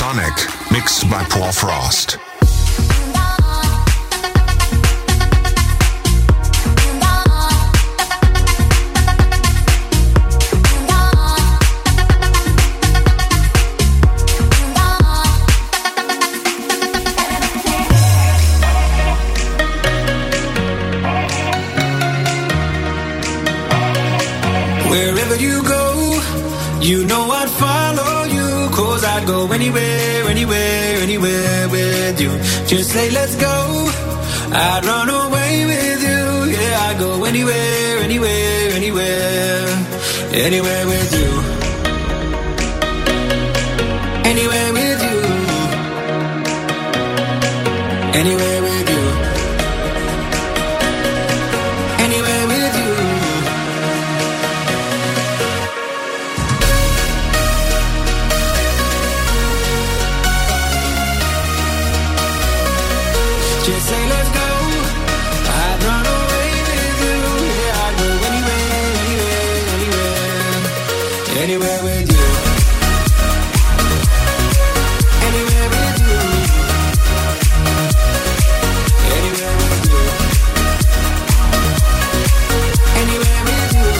Sonic, mixed by Paul Frost. Wherever you go, you know I'd follow you, 'cause I'd go anywhere, anywhere, anywhere with you. Just say let's go, I'd run away with you. Yeah, I'd go anywhere, anywhere, anywhere, anywhere with you. Anywhere with you. Anywhere with you. Anywhere with you. Just say let's go, I'd run away with you. Yeah, I'd go anywhere, anywhere, anywhere, anywhere with you. Anywhere with you. Anywhere with you. Anywhere with you.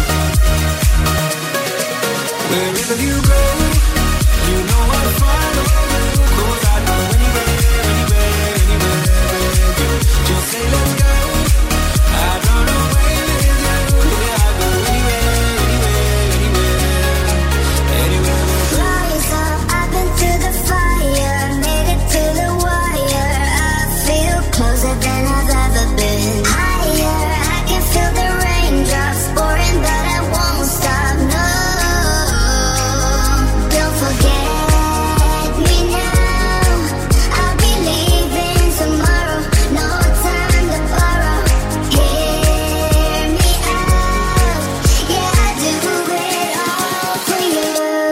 Wherever you go, you know I'll follow you, 'cause I'd go anywhere, anywhere, anywhere. Just say let's go, I'd run away with you. Yeah, I'd go anywhere, anywhere, anywhere, anywhere with you. Rise up, I've been through the fire, made it to the wire. I feel closer than I've ever been. Higher, I can feel the raindrops pouring, but I won't stop, no. Don't forget me now, I'll be leaving tomorrow. No time to borrow. Hear me out. Yeah, I do it all for you.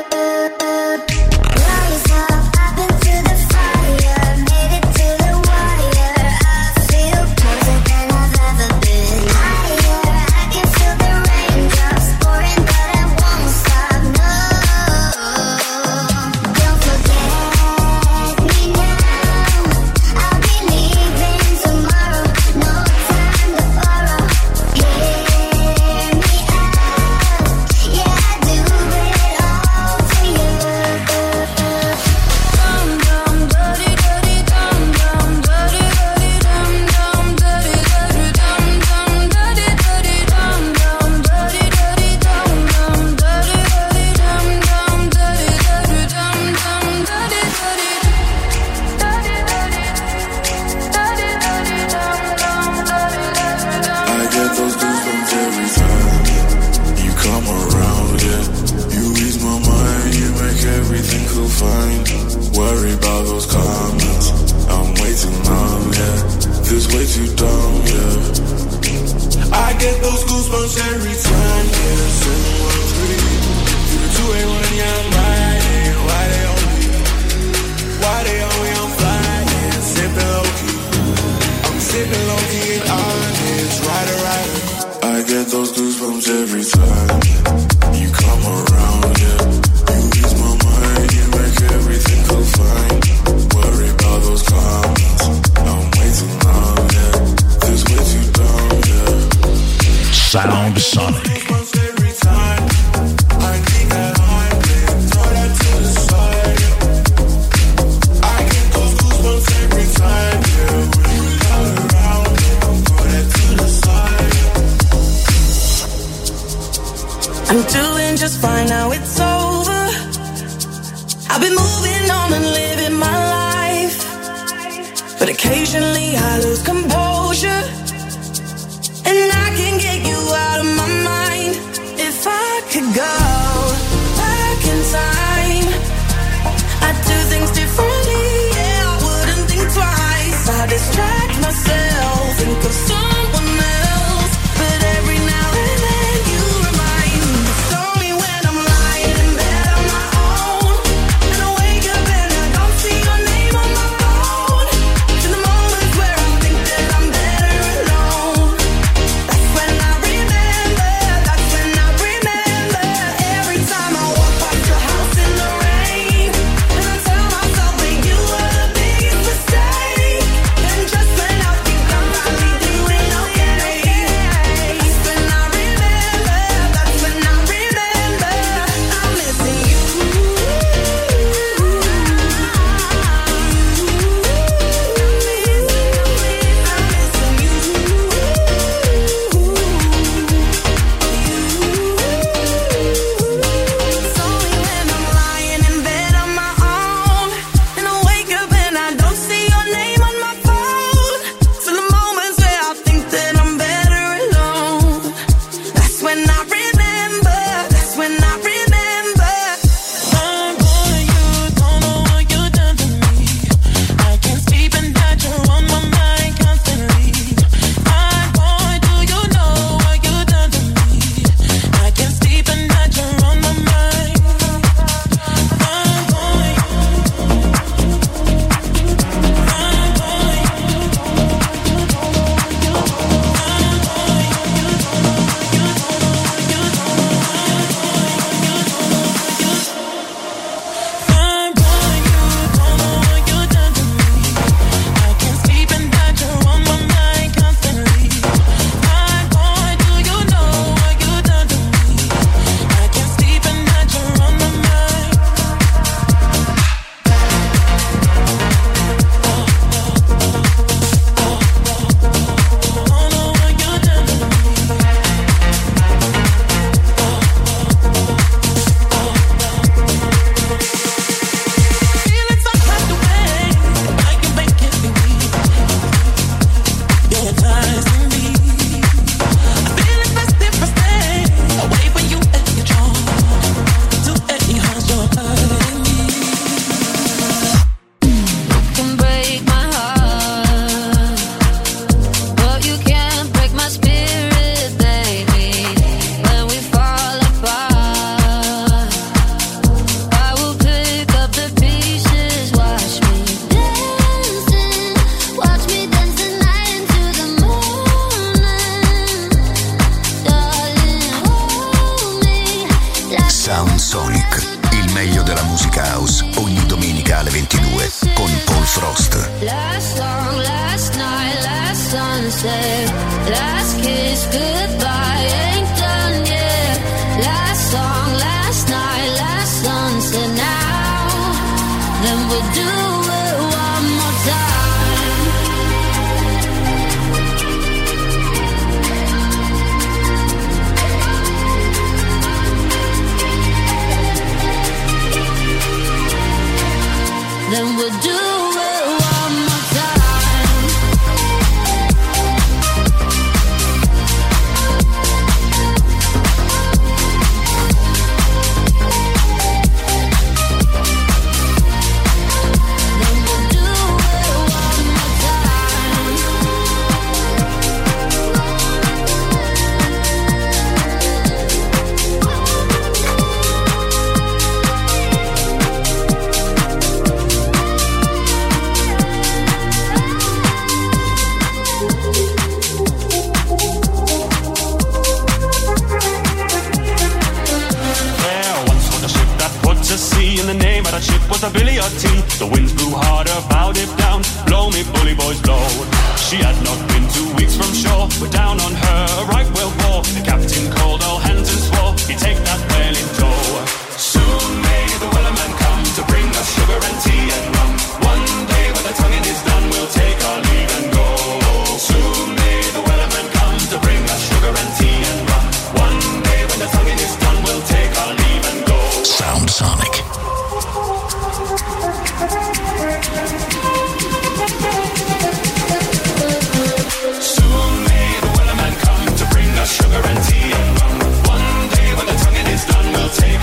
Rise up, I've been through the fire, made it to the wire. I feel closer than I've ever been. Higher, I can feel the raindrops pouring, but I won't stop, no. Don't forget me now, I'll be leaving tomorrow. No time to borrow. Hear me out. Yeah, I do it all for you. Dum dum dirty dirty dum dum dirty dirty dum dum dirty dirty dum dum dirty dirty dum dum dirty dirty dum dum dirty dirty dum dum dirty dirty dum dum dirty I get those goosebumps every time you come around, yeah. You ease my mind, you make everything feel fine. Worry about those comments, I'm way too numb, yeah. This way too dumb, yeah. I get those goosebumps every time, yeah. 713 through the 281, yeah, I'm riding. Why they on me, I'm flying, sipping low key. I'm sipping low key and honest, rider. I get those goosebumps every time you come around, yeah. You ease my mind, you make everything feel fine. Worry about those comments, I'm way too numb, yeah. This way too dumb, yeah. Sound Sonic. Goosebumps every time I think that I'm dead, throw that to the side. I get those goosebumps every time, yeah. When you come around, throw that to the side. I'm doing just fine now, it's over. I've been moving on and living my life, but occasionally I lose composure, and I can get you out of my mind. If I could go back in time, I'd do things differently, yeah, I wouldn't think twice. I distract myself, think of someone else, but every now and then you remind me. It's only when I'm lying in bed on my own, and I wake up and I don't see your name on my phone. To the moments where I think that I'm better alone. That's when I remember. Every time I walk past your house in the rain, and I tell myself Sound Sonic, il meglio della musica house, ogni domenica alle 22 con Paul Frost. Last song, last night, last sunset, last kiss, goodbye, ain't done yet. Last song, last night, last sunset, now, then we'll do it one more time. Then we'll do it one more time. Then we'll do it one more time. There once was a ship that put to sea, and the name of that ship was the Billy O' Tea. The winds blew harder, bowed it down. Blow me, bully boys, blow. She had not been 2 weeks from shore. We're down on her, a right whale bore. The captain called all hands and swore he'd take that whale in tow. Soon may the wellerman come to bring us sugar and tea and rum. One day when the tonguing is done, we'll take our leave and go. Soon may the wellerman come to bring us sugar and tea and rum. One day when the tonguing is done, we'll take our leave and go. Sound Sonic. Soon may the wellerman come to bring us sugar and tea and rum. One day when the tonguing is done, we'll take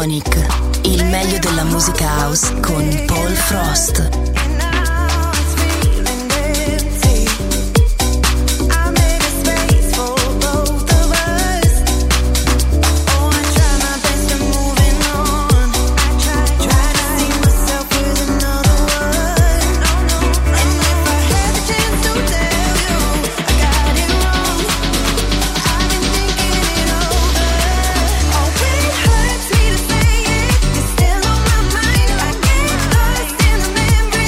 Iconic, il meglio della musica house con Paul Frost. Still on my mind, I get lost in the memory.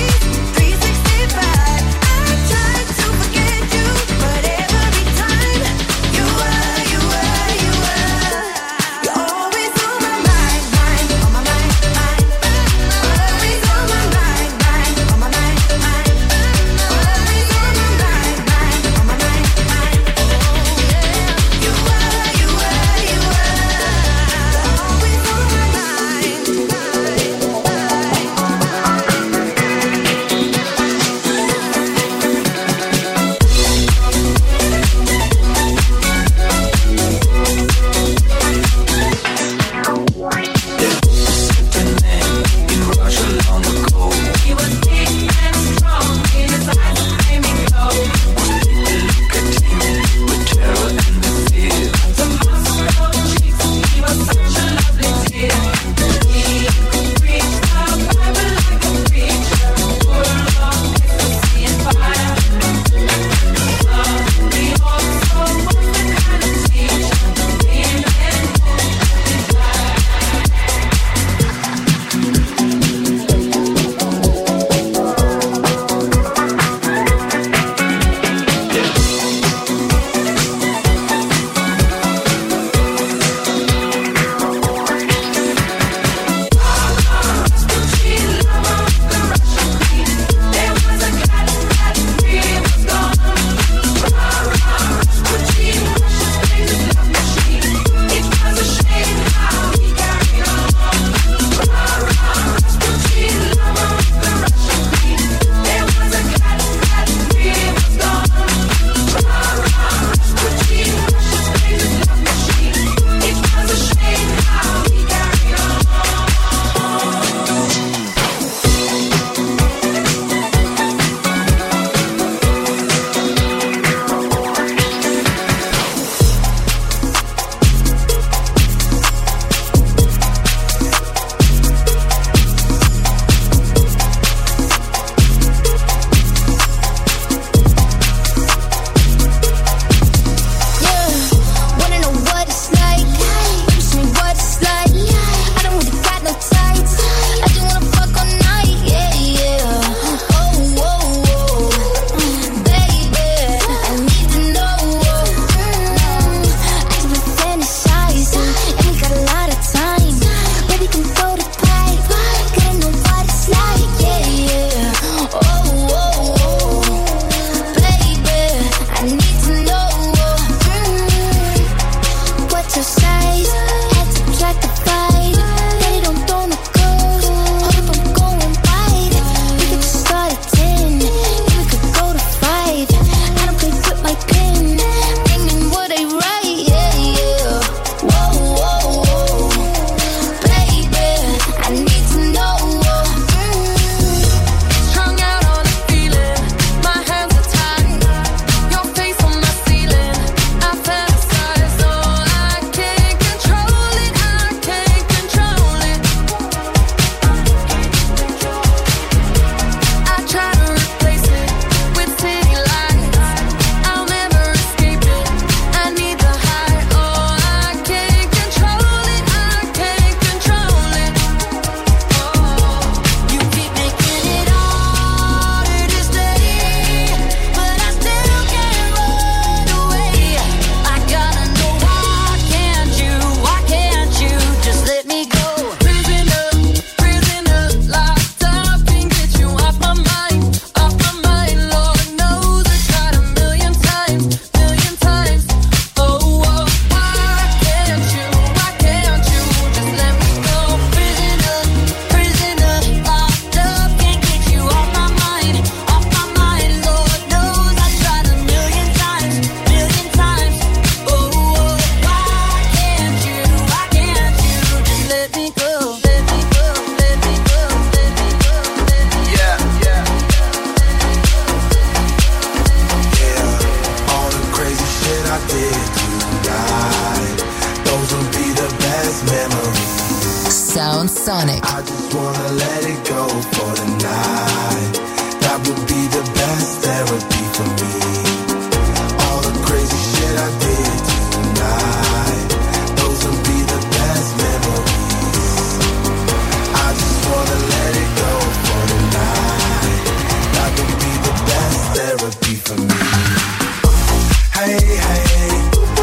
Sonic. I just wanna let it go for the night. That would be the best therapy for me. All the crazy shit I did tonight, those would be the best memories. I just wanna let it go for the night. That would be the best therapy for me. Hey, hey,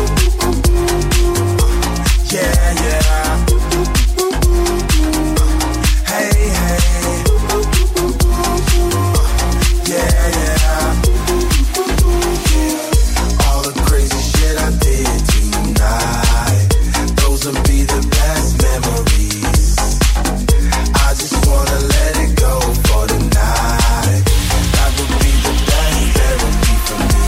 yeah, yeah. Hey, hey, yeah, yeah. All the crazy shit I did tonight, those will be the best memories. I just wanna let it go for the night. That would be the best therapy for me.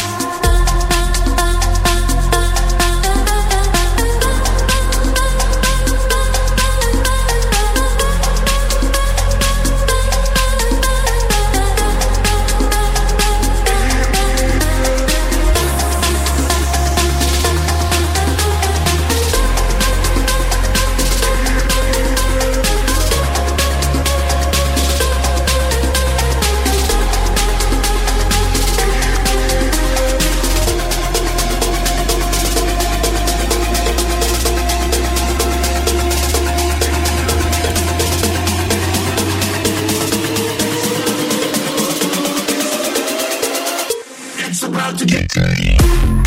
It's about to get dirty.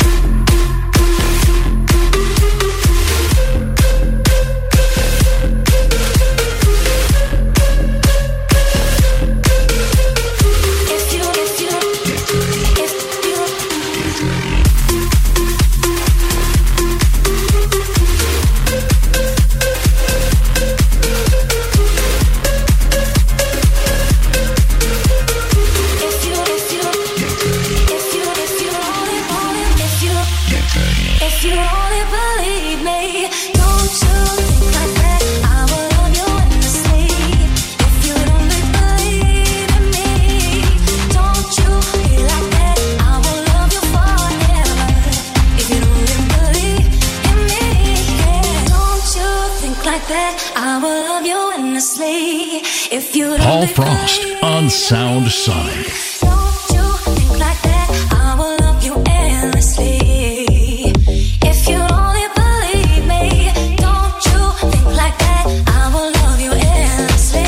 If you only believe me, don't you think like that? I will love you endlessly. If you only believe in me, don't you be like that? I will love you forever. If you only believe in me, yeah. Don't you think like that? I will love you endlessly. If you Paul Frost on Sound Sonic. don't you think like that? I will love you endlessly. If you only believe me, don't you think like that? I will love you endlessly.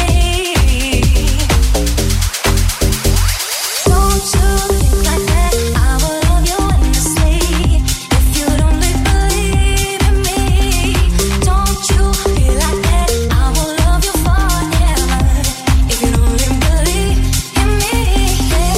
Don't you think like that? I will love you endlessly. If you only believe in me, don't you be like that? I will love you forever. If you only believe in me, yeah.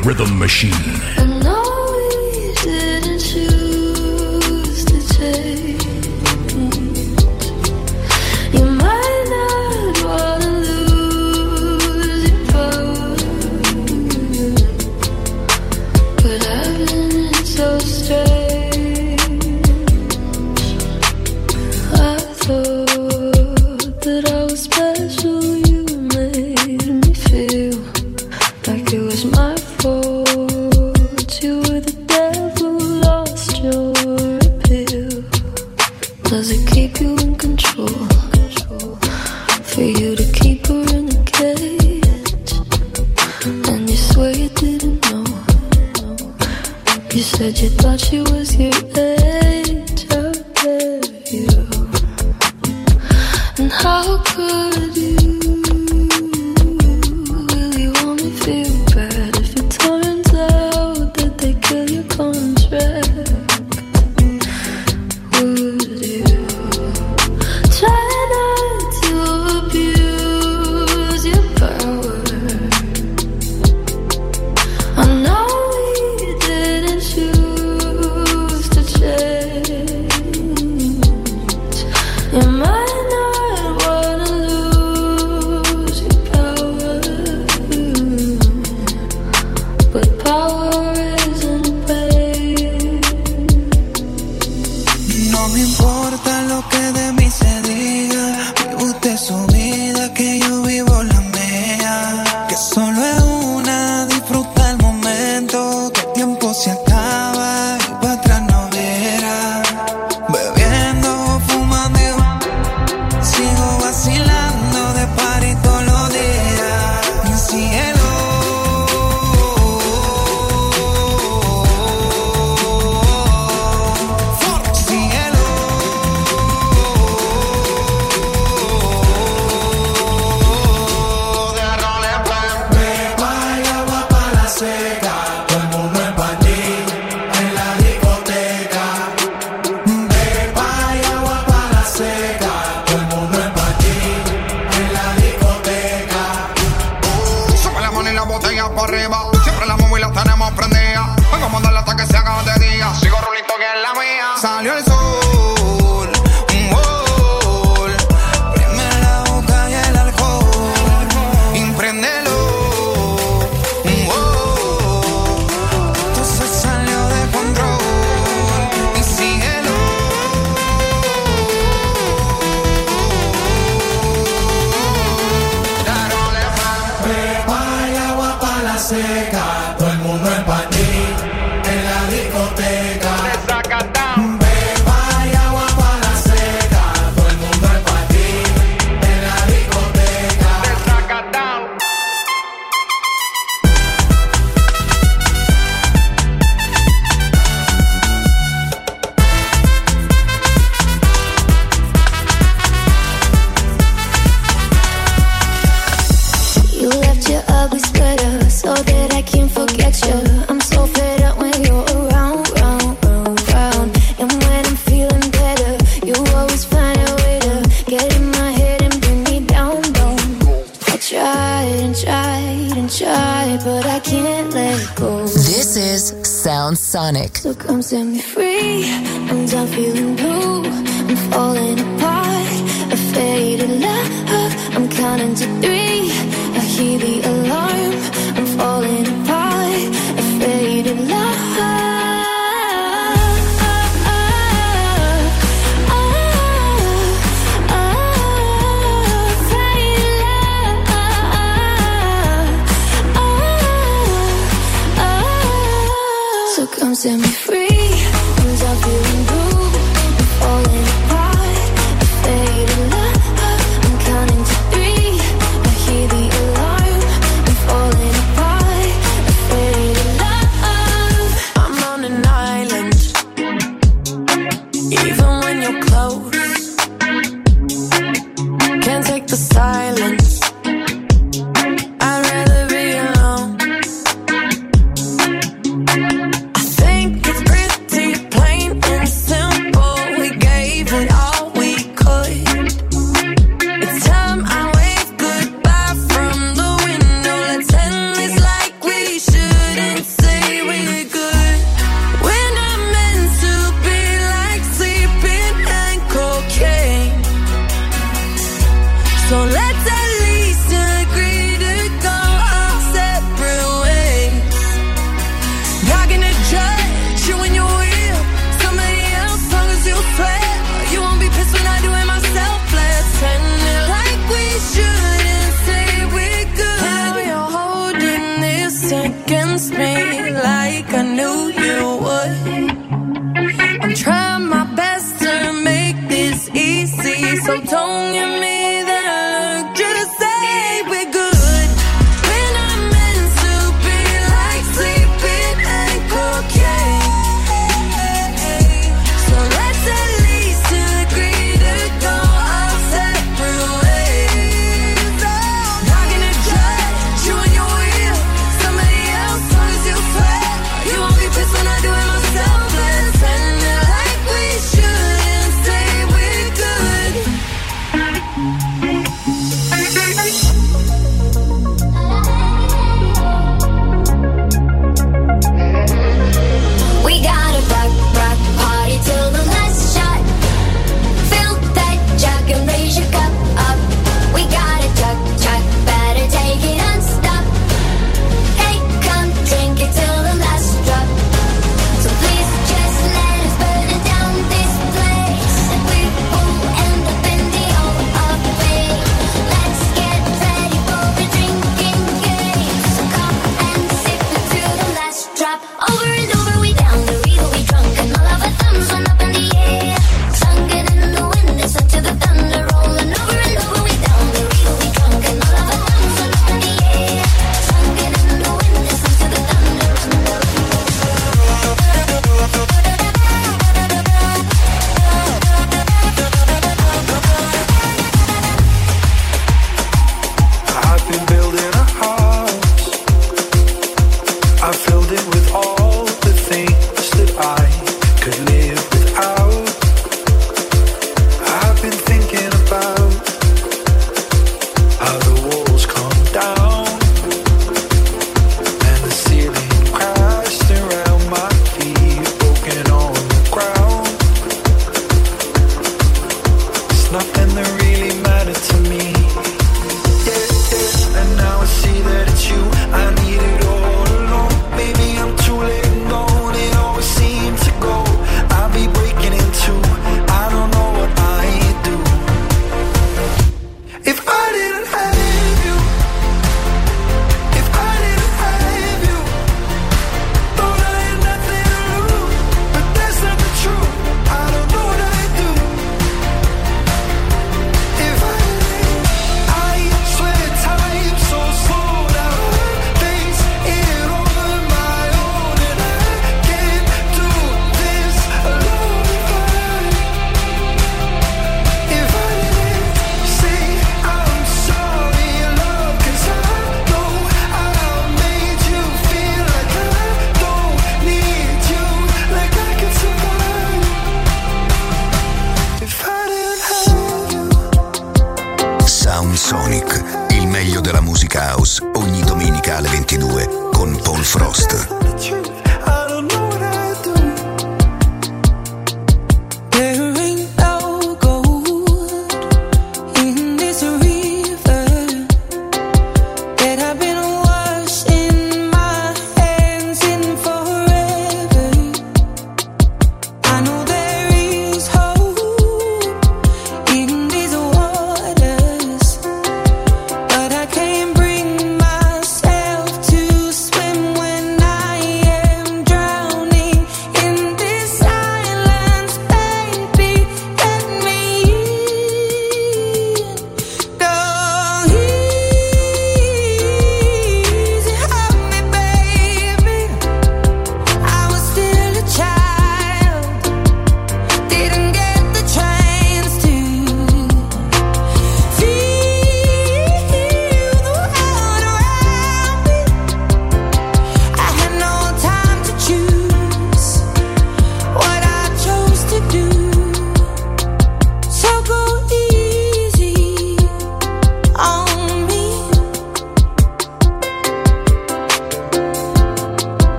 rhythm machine. I know we didn't choose to change. You might not wanna lose your power, but I've been so strange. I thought that I was special. You made me feel like it was my fault. You were the devil, lost your appeal. Does it keep you in control? For you to keep her in a cage, and you swear you didn't know. You said you thought she was your age. How dare you? And how could you really want me feel bad if it turns out that they kill your contract? Would you try not to abuse your power? I know we didn't choose to change. You might not wanna lose your power, but power isn't pain. No me importa lo que de mí se diga. Vive usted su vida, que yo vivo la mía. Que solo es una, disfruta el momento. Que el tiempo se acaba y para atrás no verá. Bebiendo, fumando, sigo vacilando de party todos los días. Mi cielo. Cielo. De roles, Hay agua para la seca, todo el mundo en patín en la discoteca. Hay agua para la seca, todo el mundo en patín en la discoteca. sube la mano y la botella para arriba. Siempre la móvil la tenemos prendida. Vengo a mandarla hasta que se haga de día. Sigo rulito que es la mía. Salió el sol, un gol. Prende la boca y el alcohol. Impréndelo, un gol. Esto se salió de control. Y síguelo. Hay agua para la seca, todo el mundo en patín en la discoteca. Hay agua para la seca, todo el mundo en patín en la discoteca. You left your ugly sweater so that I can't forget you. I'm so fed up when you're around, round, round, round. And when I'm feeling better, you always find a way to get in my head and bring me down, down. I tried and tried and tried, but I can't let go. This is Sound Sonic. So come set me free. I'm done feeling blue. I'm falling apart. A faded love. I'm counting to 3. I hear the alarm. I'm falling apart. A faded love. So come set me free. I'm done feeling blue. I'm falling apart. A faded love. I'm counting to 3. I hear the alarm. I'm falling apart. A faded love. I'm on an island. Even when you're close, can't take the silence. I'd rather be alone. I think Sonic, il meglio della musica house, ogni domenica alle 22 con Paul Frost.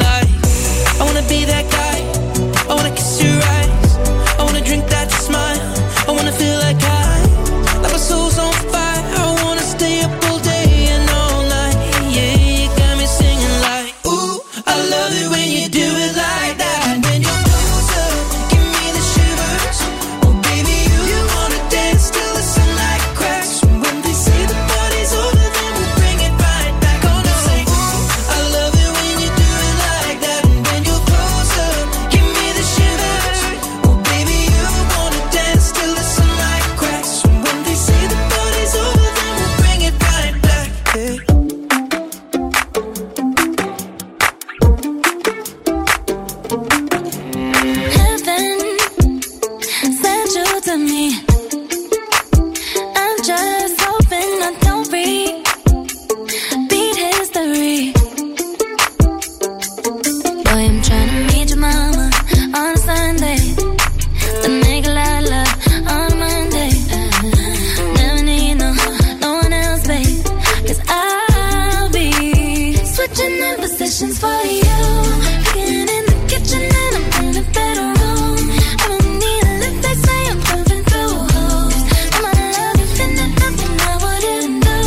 Be that guy, I wanna kiss your eyes, I wanna drink that smile. switching up positions for you. Being in the kitchen and I'm in the bedroom. I don't need a lift, they say I'm pumping through holes. I'm out of love, you've been at nothing I wouldn't do.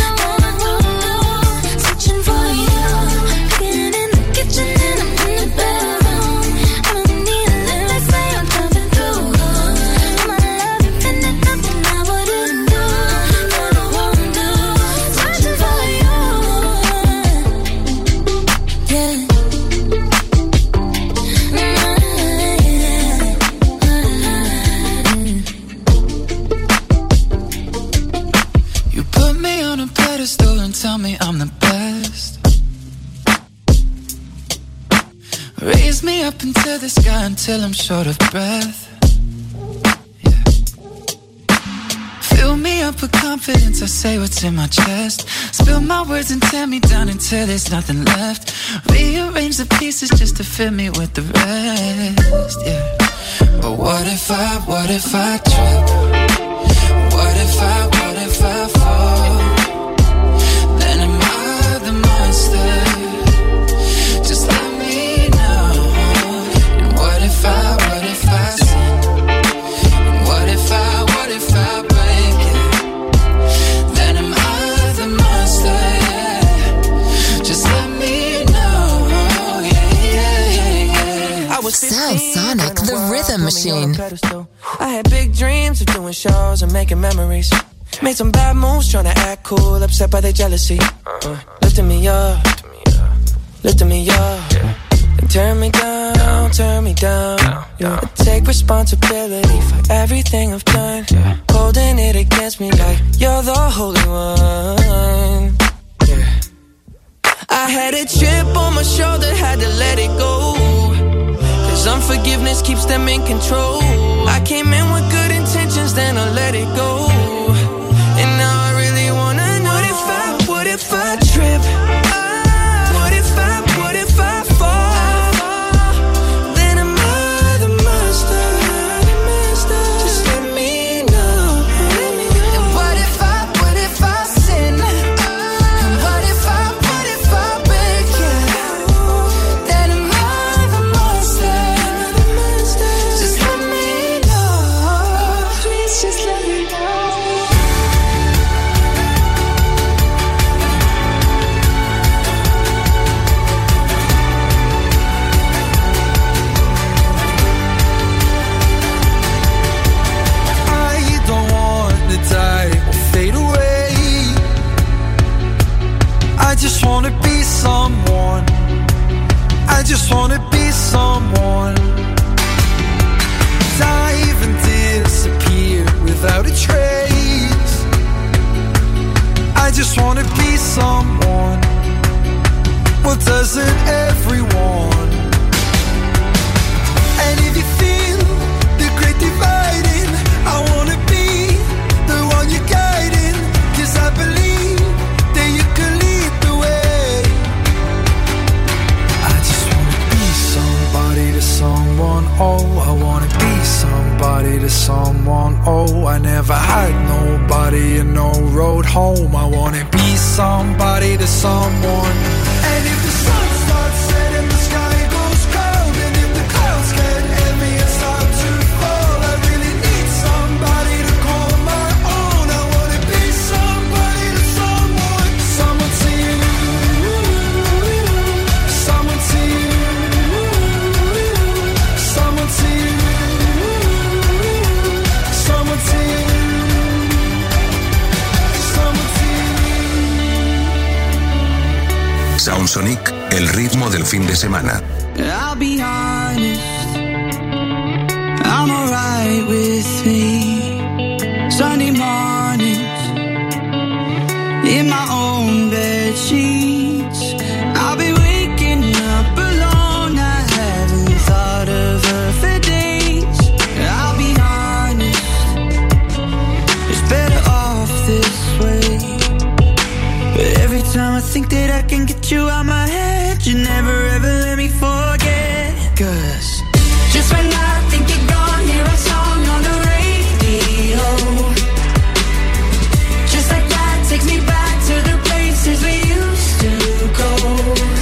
Switching for you. Being in the kitchen and I'm in the bedroom. I don't need a lift, they say I'm pumping through holes. I'm out of love, you've been at nothing I wouldn't do. Switching for you. Yeah. You put me on a pedestal and tell me I'm the best. Raise me up into the sky until I'm short of breath. Yeah. Fill me up with confidence, I say what's in my chest. Spill my words and tear me down until there's nothing left. Rearrange the pieces just to fill me with the rest. Yeah. But what if I trip? What if I fall? Then am I the monster? Just let me know. And what if I sin? And what if I break it? Then am I the monster? Yeah. Just let me know. Yeah. I was Sound Sonic, the rhythm machine. I had big dreams of doing shows and making memories. Made some bad moves trying to act cool, upset by their jealousy. Lifting me up, lifting me up. And turn me down, turn me down. I take responsibility for everything I've done. Holding it against me like you're the holy one. I had a chip on my shoulder, had to let it go. Cause unforgiveness keeps them in control. I came in with good intentions, then I let it go. And now I really wanna know, what if I trip? What if I fall? Then am I the monster? Just let me know. And what if I sin? And what if I break it? Then am I the monster? Just let me know. Please just let me know. I don't want to die or fade away. I just wanna be someone. I just wanna be someone. Dive and disappear without a trace. I just wanna be someone. Well, doesn't everyone? And if you feel the great dividing, I wanna be the one you're guiding. Cause I believe that you can lead the way. I just wanna be somebody to someone. Oh, I wanna be somebody to someone. Oh, I never had nobody and no road home. I wanna be somebody to someone. And if the sun starts setting, the sky goes cold. And if the clouds get heavy and start to fall, I really need somebody to call my own. I wanna be somebody to someone. Someone to you. Someone to you. Someone to you. Someone to you. Someone to you. Sound Sonic, el ritmo del fin de semana. I'll be honest, I'm alright with me. Sunday mornings, in my own bed sheets, I'll be waking up alone. I haven't thought of her for days. I'll be honest, it's better off this way. But every time I think that I can get you out my head, you never ever let me forget. Cause just when I think you're gone, hear a song on the radio. Just like that takes me back to the places we used to go.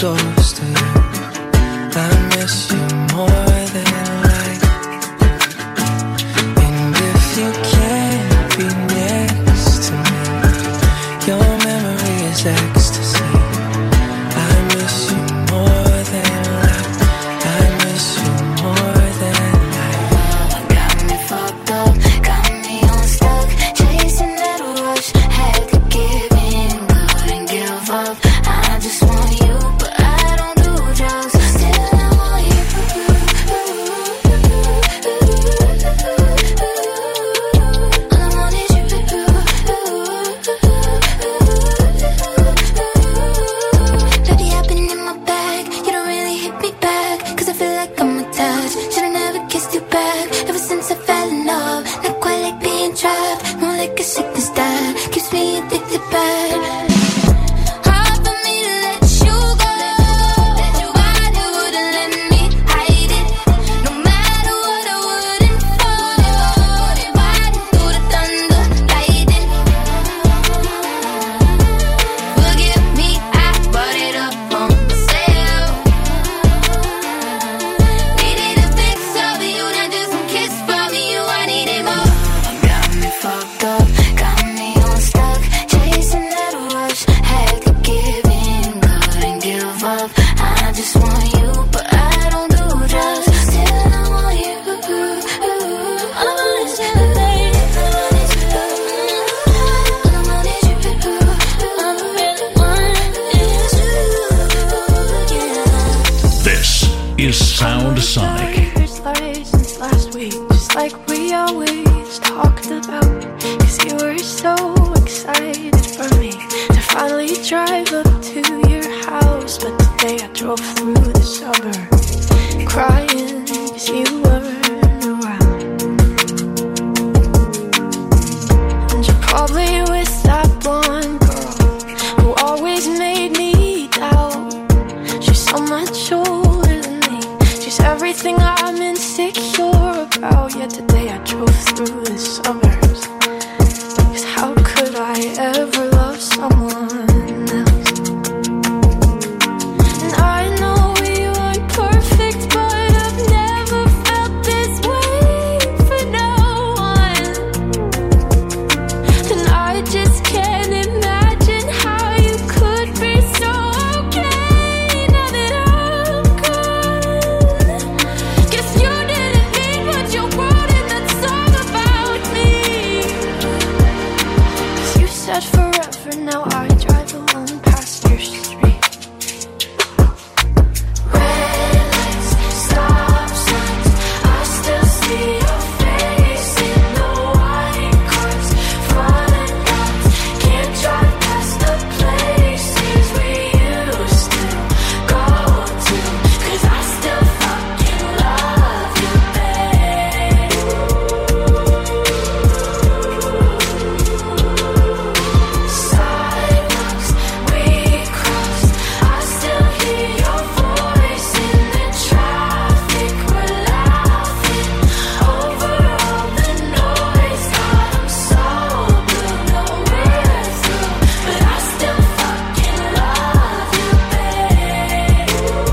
close to you. I miss you more than life. And if you can't be next to me, your memory is ecstasy. I miss you more than life. I miss you more than life. Got me fucked up, got me unstuck, chasing that rush, had to give in, couldn't give up. I just want you, but I don't do drugs. Still I want you. All I want is you. Baby, I've been in my bag. You don't really hit me back, 'cause I feel like I'm attached. Should've never kissed you back. Ever since I fell in love, not quite like being trapped. More like a sickness that keeps me addicted bad. Hard for me to let you go. Why you wouldn't let me hide it? No matter what I wouldn't fall. Riding through the thunder, lightning. Forgive me, I brought it up on myself. Needed a fix of you, not just some kiss from you. I needed more. Got me fucked up, got me unstuck, chasing that rush, had to give in, couldn't give up. I just want you, but I don't do drugs. Still I want you. All I want is you, baby. All I want is you. All I want is you. All I really want is you. Yeah. This is Sound Sonic. Since last week, just like we always talked about. 'Cause you were so excited for me to finally drive up to your house. But the day I drove through the suburbs, crying 'cause you weren't around. And you probably with that blonde girl who always made me doubt. She's so much older than me. She's everything I'm insecure about. Yet today I drove through the suburbs. 'Cause how could I ever love someone else? And I know we weren't perfect, but I've never felt this way for no one. And I just can't imagine how you could be so okay now that I'm gone. Guess you didn't mean what you wrote in that song about me. 'Cause you said forever, now I drive alone past your street. Red lights, stop signs, I still see your face in the white cars. Front and back, can't drive past the places we used to go to. 'Cause I still fucking love you, babe. Sidewalks we crossed, I still hear your voice in the traffic. We're laughing over all the noise. God, I'm so blue, no we're through, but I still fucking love you, babe.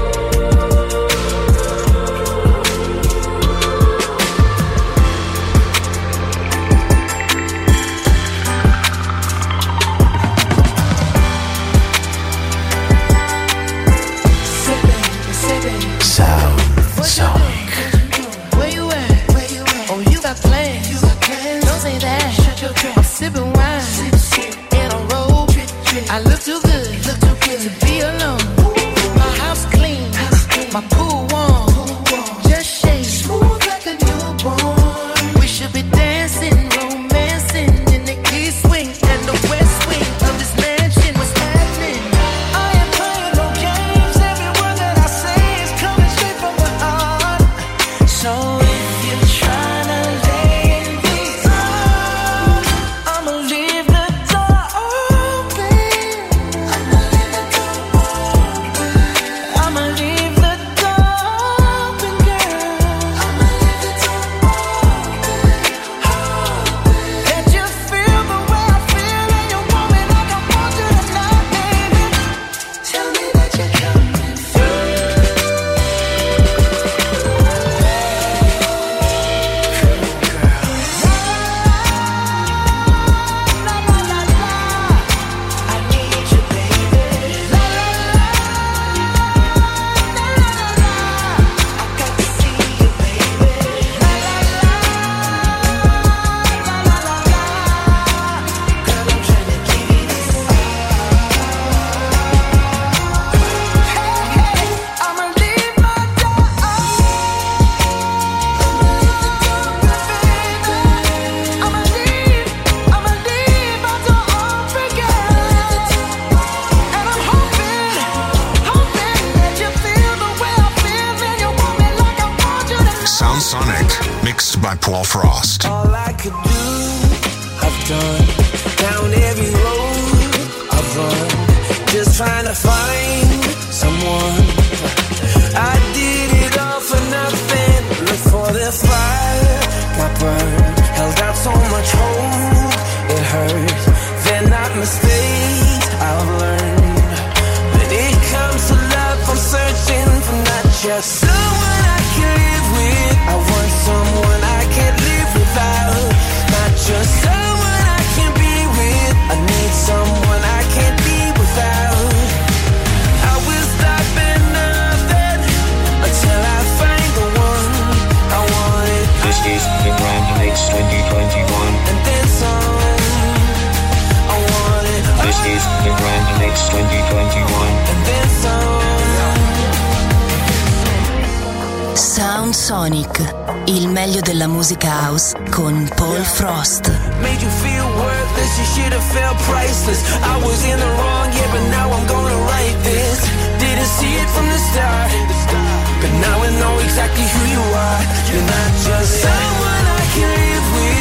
Sound Sonic. Where you at? Oh, you got plans. Don't say that. I'm sipping wine in a robe. I look too good to be alone. My house clean, my pool warm. Just shake smooth like a newborn. We should be dancing, romancing in the east wing and the west wing of this mansion. What's happening? I ain't playing no games. Every word that I say is coming straight from the heart. So if you're trying to lay in these arms, I'ma leave the door open. I'ma leave the door Paul Frost. All I could do, I've done. Down every road I've run, just trying to find someone. I did it all for nothing. Look for the fire, got burned. Held out so much hope, it hurt. They're not mistakes I've learned. When it comes to love, I'm searching for not just someone I can live with. I want someone I can't live without. Not just someone I can be with. I need someone I can't be without. I will stop at nothing until I find the one I wanted. This is the Grand Mix 2021. And then some. I want it. This is the Grand Mix 2021. And then some. Sound Sonic, il meglio della musica house con Paul Frost. Made you feel worthless, you should have felt priceless. I was in the wrong, yeah, but now I'm gonna write this. Didn't see it from the start, but now I know exactly who you are. You're not just someone I can live with.